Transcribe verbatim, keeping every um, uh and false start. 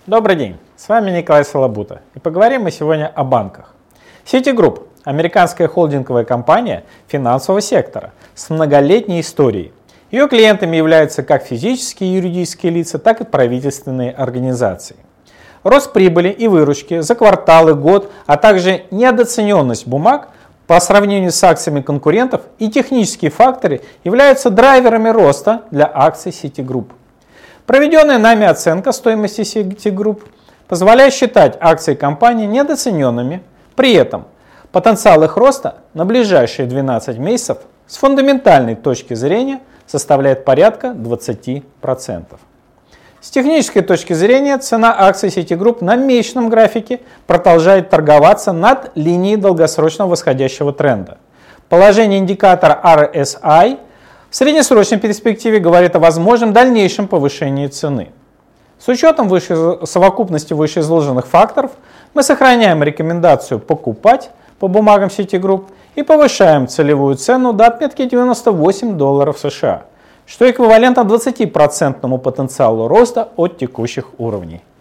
Добрый день, с вами Николай Солобута, и поговорим мы сегодня о банках. Citigroup – американская холдинговая компания финансового сектора с многолетней историей. Ее клиентами являются как физические и юридические лица, так и правительственные организации. Рост прибыли и выручки за кварталы, год, а также недооцененность бумаг по сравнению с акциями конкурентов и технические факторы являются драйверами роста для акций Citigroup. Проведенная нами оценка стоимости Citigroup позволяет считать акции компании недооцененными. При этом потенциал их роста на ближайшие двенадцать месяцев с фундаментальной точки зрения составляет порядка двадцати процентов. С технической точки зрения цена акций Citigroup на месячном графике продолжает торговаться над линией долгосрочного восходящего тренда. Положение индикатора ар эс ай в среднесрочной перспективе говорит о возможном дальнейшем повышении цены. С учетом выше, совокупности вышеизложенных факторов мы сохраняем рекомендацию покупать по бумагам Citigroup и повышаем целевую цену до отметки девяносто восемь долларов США, что эквивалентно двадцати процентному потенциалу роста от текущих уровней.